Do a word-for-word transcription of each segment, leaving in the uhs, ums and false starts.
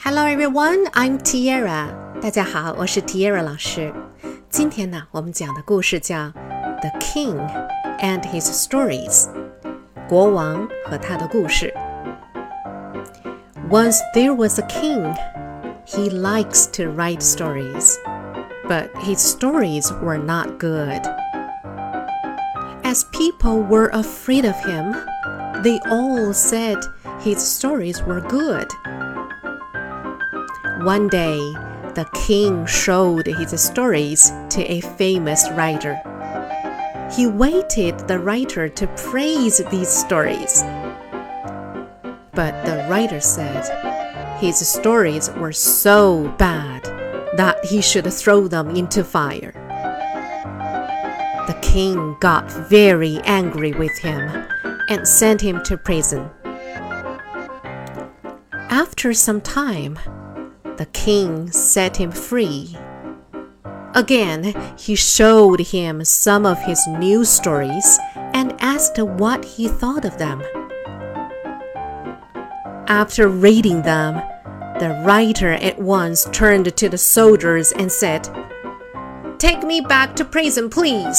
Hello everyone, I'm Tiara. 大家好，我是 Tiara 老师。今天呢，我们讲的故事叫 The King and His Stories. 国王和他的故事。Once there was a king. He likes to write stories, but his stories were not good. As people were afraid of him, they all said his stories were good. One day, the king showed his stories to a famous writer. He wanted the writer to praise these stories. But the writer said his stories were so bad that he should throw them into fire. The king got very angry with him and sent him to prison. After some time, the king set him free. Again, he showed him some of his new stories and asked what he thought of them. After reading them, the writer at once turned to the soldiers and said, "Take me back to prison, please."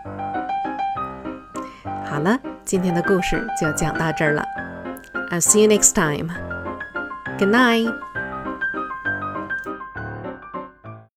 好了，今天的故事就讲到这儿了。I'll see you next time. Good night.